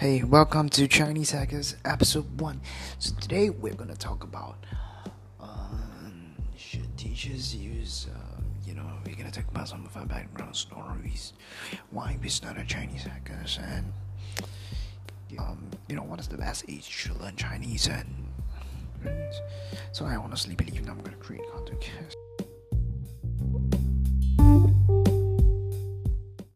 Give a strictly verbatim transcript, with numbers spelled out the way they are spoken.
Hey, welcome to Chinese Hackers episode one. So today we're gonna talk about um, should teachers use, uh, you know, we're gonna talk about some of our background stories, why we started Chinese Hackers, and um, you know, what is the best age to learn Chinese. And so I honestly believe that I'm gonna create content.